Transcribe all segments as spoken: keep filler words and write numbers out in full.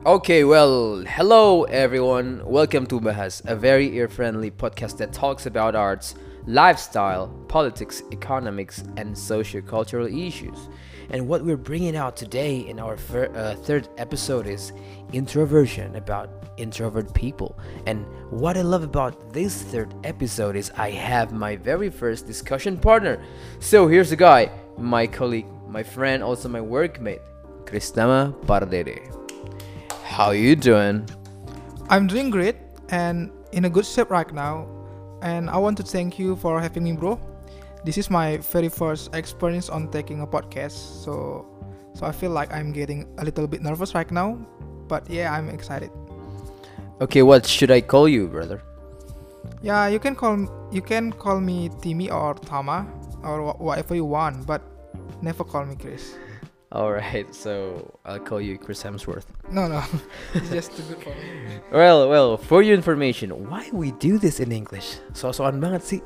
Okay, well, hello everyone. Welcome to Bahas, a very ear-friendly podcast that talks about arts, lifestyle, politics, economics, and socio-cultural issues. And what we're bringing out today in our fir- uh, third episode is introversion, about introvert people. And what I love about this third episode is I have my very first discussion partner. So here's the guy, my colleague, my friend, also my workmate, Kristama Pardede. How you doing? I'm doing great and in a good shape right now. And I want to thank you for having me, bro. This is my very first experience on taking a podcast, so so I feel like I'm getting a little bit nervous right now. But yeah, I'm excited. Okay, what should I call you, brother? Yeah, you can call you can call me Timmy or Tama or wh- whatever you want, but never call me Chris. Alright, so I'll call you Chris Hemsworth. No, no, it's just too good for me. Well, well, for your information, why we do this in English? So-soan banget sih.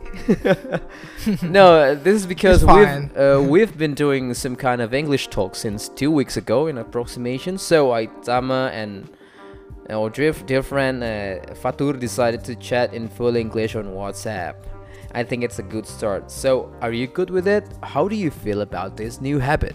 No, uh, this is because It's fine. we've uh, we've been doing some kind of English talk since two weeks ago in approximation. So I, Tama, and our dear, dear friend uh, Fatur decided to chat in full English on WhatsApp. I think it's a good start. So, are you good with it? How do you feel about this new habit?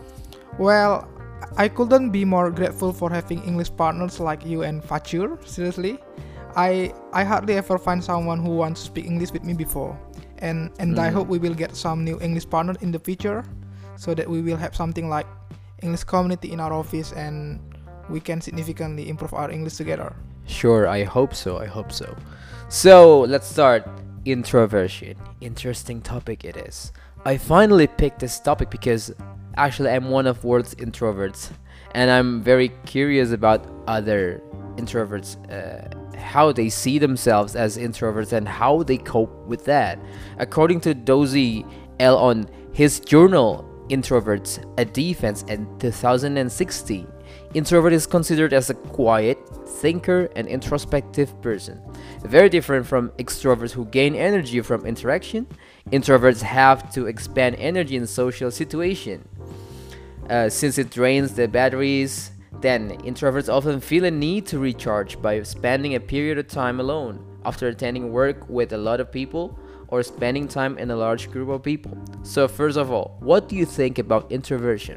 Well, I couldn't be more grateful for having English partners like you and Fatur. Seriously, I I hardly ever find someone who wants to speak English with me before, and and I Mm. hope we will get some new English partners in the future, so that we will have something like English community in our office, and we can significantly improve our English together. Sure, I hope so. I hope so. So let's start. Introversion. Interesting topic it is. I finally picked this topic because actually I'm one of world's introverts, and I'm very curious about other introverts, uh, how they see themselves as introverts and how they cope with that. According to Dozy L on his journal Introverts: A Defense in two thousand sixteen, introvert is considered as a quiet thinker and introspective person, very different from extroverts who gain energy from interaction. Introverts have to expend energy in social situation, uh, since it drains the batteries. Then introverts often feel a need to recharge by spending a period of time alone after attending work with a lot of people or spending time in a large group of people. So first of all, what do you think about introversion?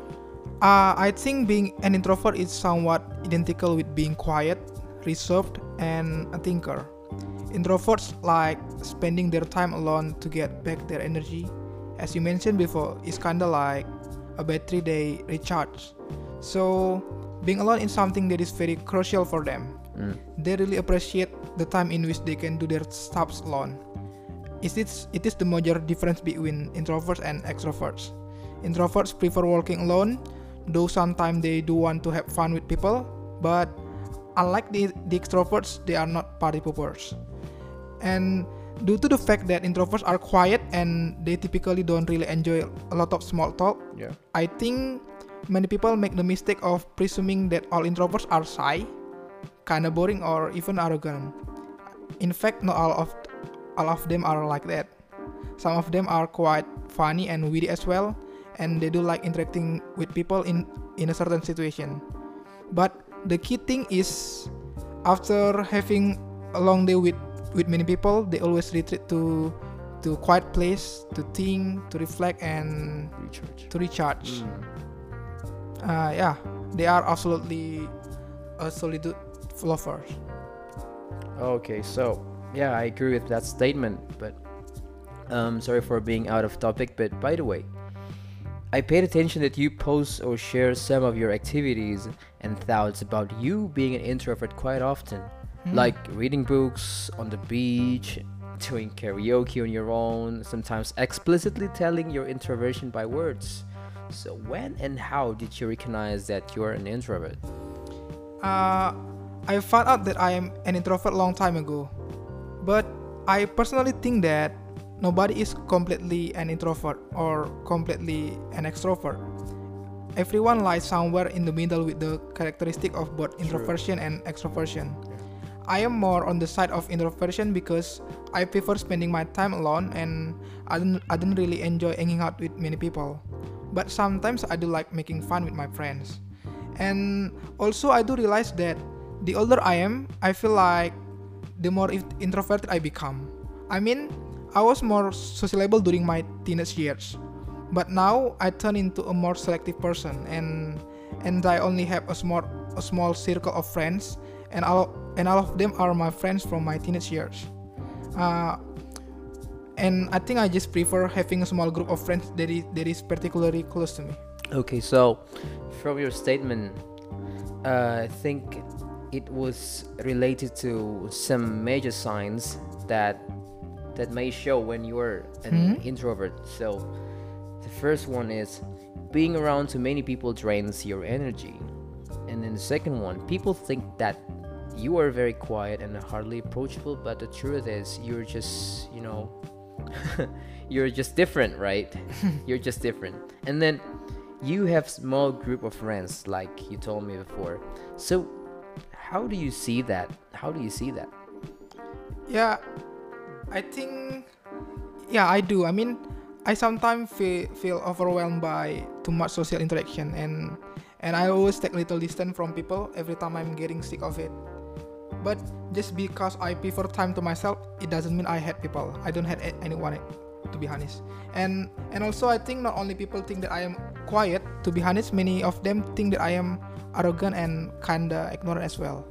Uh, I think being an introvert is somewhat identical with being quiet, reserved, and a thinker. Introverts like spending their time alone to get back their energy. As you mentioned before, it's kinda like a battery they recharge. So, being alone is something that is very crucial for them. Mm. They really appreciate the time in which they can do their stuff alone. It is, it is the major difference between introverts and extroverts. Introverts prefer working alone, though sometimes they do want to have fun with people, but unlike the, the extroverts, they are not party poopers. And due to the fact that introverts are quiet and they typically don't really enjoy a lot of small talk, Yeah. I think many people make the mistake of presuming that all introverts are shy, kinda boring, or even arrogant. In fact, not all of all of them are like that. Some of them are quite funny and witty as well, and they do like interacting with people in in a certain situation. But the key thing is, after having a long day with with many people, they always retreat to to a quiet place to think, to reflect, and Recharge. to recharge. Mm. Uh, yeah, they are absolutely a solitude lovers. Okay, so yeah, I agree with that statement, but um, sorry for being out of topic. But by the way, I paid attention that you post or share some of your activities and thoughts about you being an introvert quite often, Hmm. like reading books on the beach, doing karaoke on your own, sometimes explicitly telling your introversion by words. So when and how did you recognize that you're an introvert? Uh, I found out that I am an introvert long time ago, but I personally think that nobody is completely an introvert or completely an extrovert. Everyone lies somewhere in the middle with the characteristic of both True. introversion and extroversion. I am more on the side of introversion because I prefer spending my time alone, and I don't, I don't really enjoy hanging out with many people. But sometimes I do like making fun with my friends. And also I do realize that the older I am, I feel like the more in- introverted I become. I mean, I was more sociable during my teenage years, but now I turn into a more selective person, and and I only have a small a small circle of friends, and all and all of them are my friends from my teenage years. Uh, and I think I just prefer having a small group of friends that is that is particularly close to me. Okay, so from your statement, uh, I think it was related to some major signs that that may show when you're an Hmm? introvert. So the first one is being around too many people drains your energy. And then the second one, people think that you are very quiet and hardly approachable, but the truth is you're just, you know, you're just different, right? You're just different. And then you have small group of friends like you told me before. So how do you see that? How do you see that? Yeah, I think, yeah, I do. I mean, I sometimes feel, feel overwhelmed by too much social interaction, and and I always take little distance from people every time I'm getting sick of it. But just because I prefer time to myself, it doesn't mean I hate people. I don't hate a- anyone, to be honest. And and also I think not only people think that I am quiet. To be honest, many of them think that I am arrogant and kinda ignorant as well.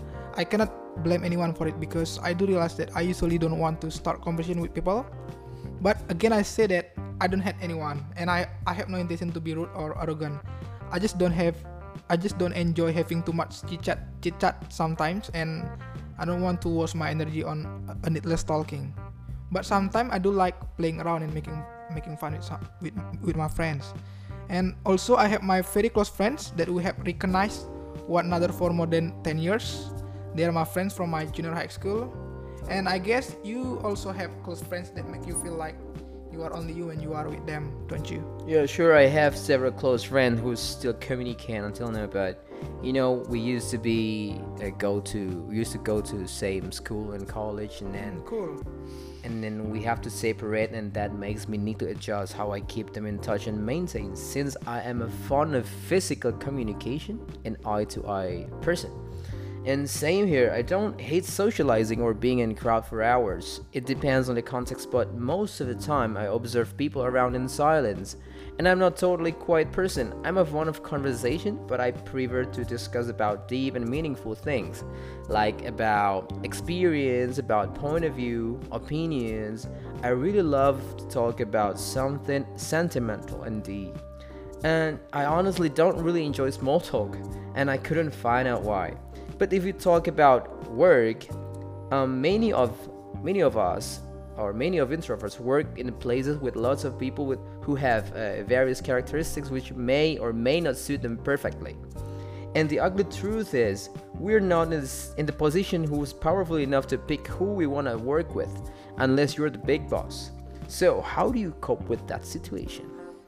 I cannot blame anyone for it because I do realize that I usually don't want to start conversation with people. But again, I say that I don't hate anyone, and I, I have no intention to be rude or arrogant. I just don't have, I just don't enjoy having too much chit chat, chit chat sometimes, and I don't want to waste my energy on a needless talking. But sometimes I do like playing around and making making fun with some, with with my friends. And also I have my very close friends that we have recognized one another for more than ten years. They are my friends from my junior high school. And I guess you also have close friends that make you feel like you are only you when you are with them, don't you? Yeah, sure. I have several close friends who still communicate until now, but you know, we used to be uh, go to we used to go to the same school and college, and then Cool. and then we have to separate, and that makes me need to adjust how I keep them in touch and maintain. Since I am a fond of physical communication, an eye-to-eye person. And same here, I don't hate socializing or being in crowd for hours. It depends on the context, but most of the time I observe people around in silence. And I'm not totally quiet person. I'm a fond of conversation, but I prefer to discuss about deep and meaningful things, like about experience, about point of view, opinions. I really love to talk about something sentimental and deep. And I honestly don't really enjoy small talk, and I couldn't find out why. But if you talk about work, um, many of many of us or many of introverts work in places with lots of people with who have uh, various characteristics which may or may not suit them perfectly. And the ugly truth is, we're not in, this, in the position who's powerful enough to pick who we want to work with, unless you're the big boss. So how do you cope with that situation?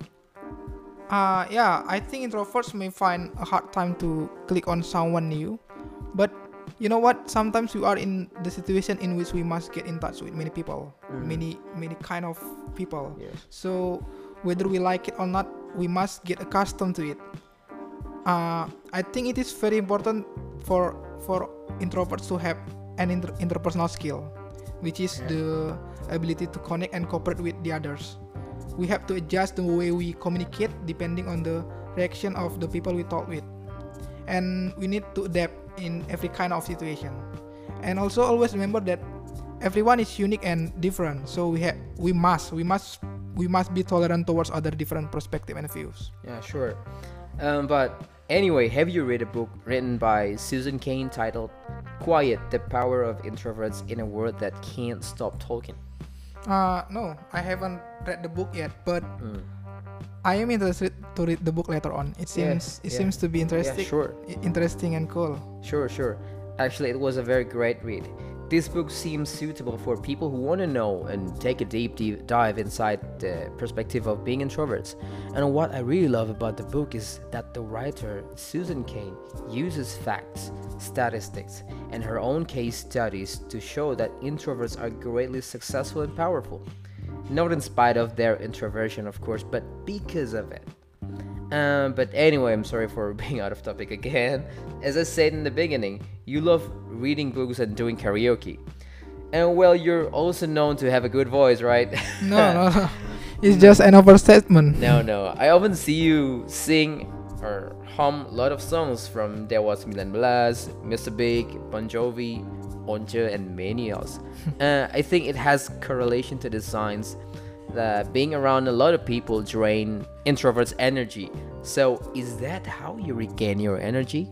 Uh, yeah, I think introverts may find a hard time to click on someone new. But you know what? Sometimes we are in the situation in which we must get in touch with many people, Mm. many many kind of people. Yes. So whether we like it or not, we must get accustomed to it. Uh, I think it is very important for for introverts to have an inter- interpersonal skill, which is Yeah. the ability to connect and cooperate with the others. We have to adjust the way we communicate depending on the reaction of the people we talk with, and we need to adapt in every kind of situation. And also always remember that everyone is unique and different, so we have we must we must we must be tolerant towards other different perspective and views. Yeah, sure. Um, but anyway, have you read a book written by Susan Cain titled Quiet, the Power of Introverts in a World That Can't Stop Talking? Uh no, I haven't read the book yet, but Mm. I am interested to read the book later on. It Yeah, seems it yeah. seems to be interesting, Yeah, sure. i- interesting and cool. Sure, sure. Actually, it was a very great read. This book seems suitable for people who want to know and take a deep, deep dive inside the perspective of being introverts. And what I really love about the book is that the writer, Susan Cain, uses facts, statistics, and her own case studies to show that introverts are greatly successful and powerful. Not in spite of their introversion, of course, but because of it. Um, but anyway, I'm sorry for being out of topic again. As I said in the beginning, you love reading books and doing karaoke. And well, you're also known to have a good voice, right? No, no, no. It's just an overstatement. No, no. I often see you sing or hum a lot of songs from Dewa sembilan belas, mister Big, Bon Jovi, Once, and many else. uh, I think it has correlation to the signs that being around a lot of people drain introverts' energy. So, is that how you regain your energy?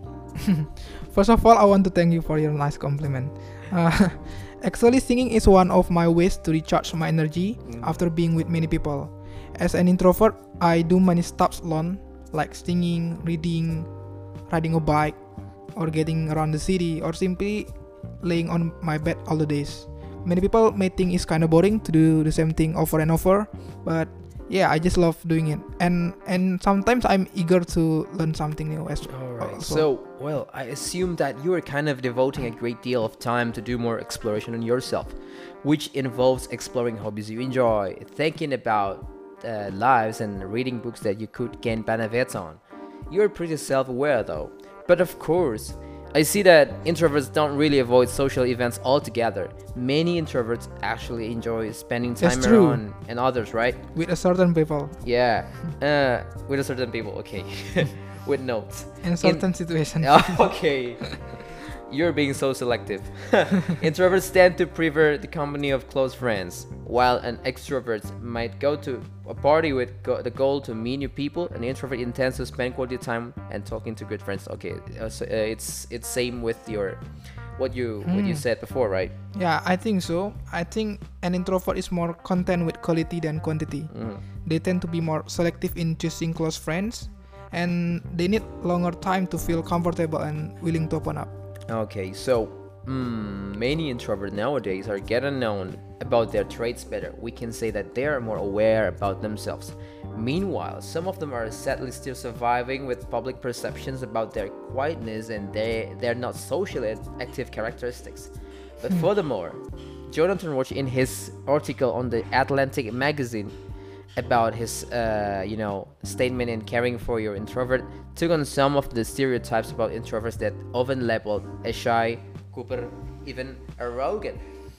First of all, I want to thank you for your nice compliment. Uh, actually, singing is one of my ways to recharge my energy Mm. after being with many people. As an introvert, I do many stuff alone, like singing, reading, riding a bike, or getting around the city, or simply laying on my bed all the days. Many people may think it's kind of boring to do the same thing over and over, but yeah, I just love doing it. And and sometimes I'm eager to learn something new as Alright, also. so, well, I assume that you are kind of devoting a great deal of time to do more exploration on yourself, which involves exploring hobbies you enjoy, thinking about uh, lives, and reading books that you could gain benefits on. You're pretty self aware though. But of course, I see that introverts don't really avoid social events altogether. Many introverts actually enjoy spending That's time true. around and others, right? With a certain people Yeah, uh, with a certain people, okay. With notes. in certain situation. Okay. You're being so selective. Introverts tend to prefer the company of close friends, while an extrovert might go to a party with go- the goal to meet new people. An introvert intends to spend quality time and talking to good friends. Okay, uh, so, uh, it's it's same with your what you what you Hmm. said before, right? Yeah, I think so. I think an introvert is more content with quality than quantity. Mm. They tend to be more selective in choosing close friends, and they need longer time to feel comfortable and willing to open up. Okay, so mm, many introverts nowadays are getting known about their traits better. We can say that they are more aware about themselves. Meanwhile, some of them are sadly still surviving with public perceptions about their quietness and they, their not socially active characteristics. But furthermore, Jonathan Roach, in his article on the Atlantic magazine about his, uh, you know, statement in caring for your introvert, took on some of the stereotypes about introverts that often labeled as shy, Cooper, even arrogant.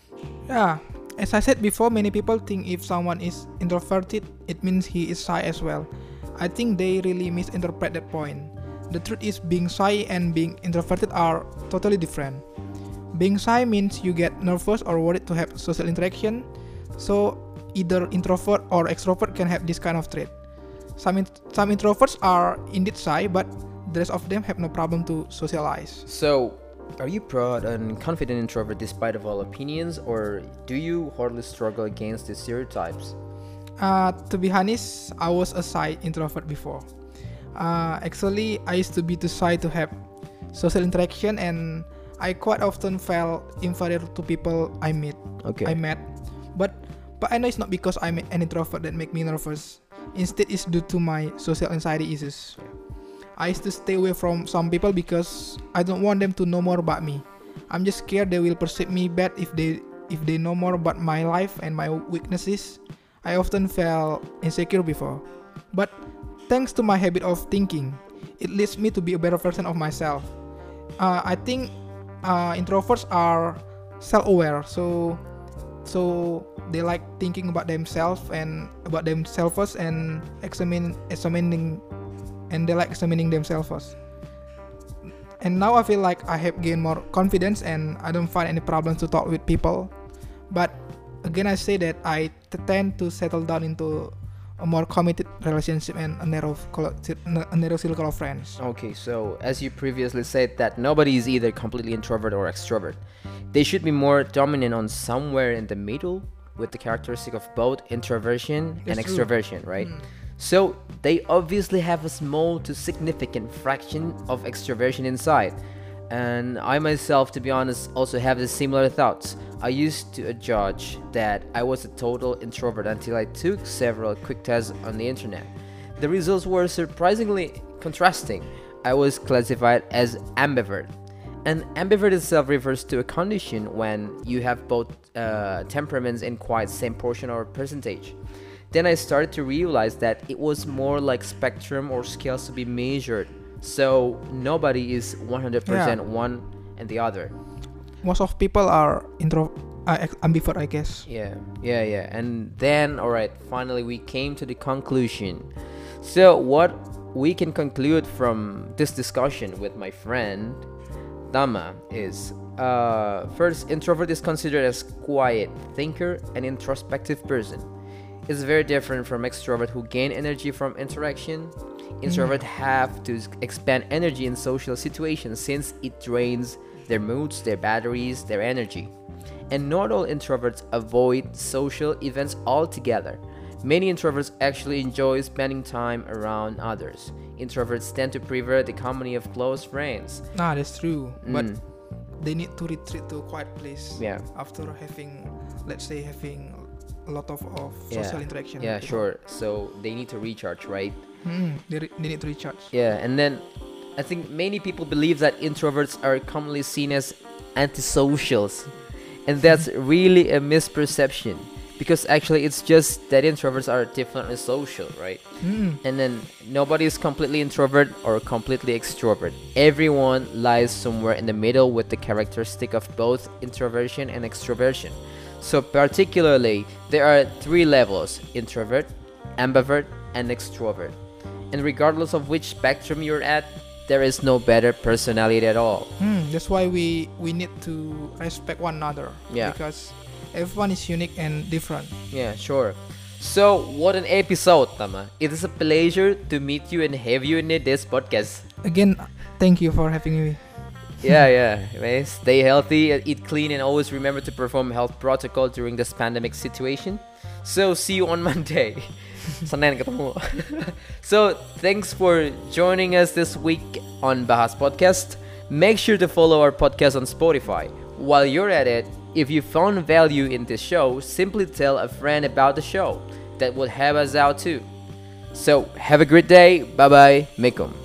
Yeah, as I said before, many people think if someone is introverted, it means he is shy as well. I think they really misinterpret that point. The truth is, being shy and being introverted are totally different. Being shy means you get nervous or worried to have social interaction, so either introvert or extrovert can have this kind of trait. Some int- some introverts are indeed shy, but the rest of them have no problem to socialize. So, are you proud and confident introvert despite of all opinions, or do you hardly struggle against the stereotypes? Uh, to be honest, I was a shy introvert before. Uh, actually, I used to be too shy to have social interaction, and I quite often felt inferior to people I meet. Okay. I met, but but I know it's not because I'm an introvert that make me nervous. Instead, it's due to my social anxiety issues. I used to stay away from some people because I don't want them to know more about me. I'm just scared they will perceive me bad if they if they know more about my life and my weaknesses. I often felt insecure before, but thanks to my habit of thinking, it leads me to be a better version of myself. Uh, I think uh, introverts are self-aware, so so they like thinking about themselves and about themselves and examine examining and they like examining themselves. And now I feel like I have gained more confidence and I don't find any problems to talk with people. But again, I say that I t- tend to settle down into a more committed relationship and a narrow, colo- a narrow circle of friends. Okay, so as you previously said that nobody is either completely introvert or extrovert. They should be more dominant on somewhere in the middle with the characteristic of both introversion and That's true. extroversion, right? Mm. So they obviously have a small to significant fraction of extroversion inside. And I myself, to be honest, also have the similar thoughts. I used to judge that I was a total introvert until I took several quick tests on the internet. The results were surprisingly contrasting. I was classified as ambivert. And ambivert itself refers to a condition when you have both uh, temperaments in quite same portion or percentage. then I started to realize that it was more like spectrum or scales to be measured. So nobody is one hundred percent Yeah. one and the other. Most of people are intro uh, ex- ambivert, I guess. Yeah, yeah, yeah. And then, all right, finally we came to the conclusion. So what we can conclude from this discussion with my friend Dama is, uh, first, introvert is considered as quiet thinker and introspective person. It's very different from extrovert who gain energy from interaction. Introvert have to s- expend energy in social situations since it drains their moods, their batteries, their energy. And not all introverts avoid social events altogether. Many introverts actually enjoy spending time around others. Introverts tend to prefer the company of close friends. Nah, that's true. But Mm, they need to retreat to a quiet place yeah, after having, let's say, having a lot of, of Yeah. social interaction. yeah, with people. sure. So they need to recharge, right? Mm, they, re- they need to recharge. Yeah, and then I think many people believe that introverts are commonly seen as antisocials, and that's really a misperception because actually it's just that introverts are definitely social, right? Mm. And then nobody is completely introvert or completely extrovert. Everyone lies somewhere in the middle with the characteristic of both introversion and extroversion. So particularly, there are three levels: introvert, ambivert, and extrovert. And regardless of which spectrum you're at, there is no better personality at all. Mm, that's why we we need to respect one another. Yeah. Because everyone is unique and different. Yeah, sure. So, what an episode, Tama. It is a pleasure to meet you and have you in this podcast. Again, thank you for having me. Yeah, yeah. Man, stay healthy, uh, eat clean, and always remember to perform health protocol during this pandemic situation. So, see you on Monday. Senin ketemu. So, thanks for joining us this week on Bahas Podcast. Make sure to follow our podcast on Spotify. While you're at it, if you found value in this show, simply tell a friend about the show. That would help us out too. So, have a great day. Bye bye. Mekum.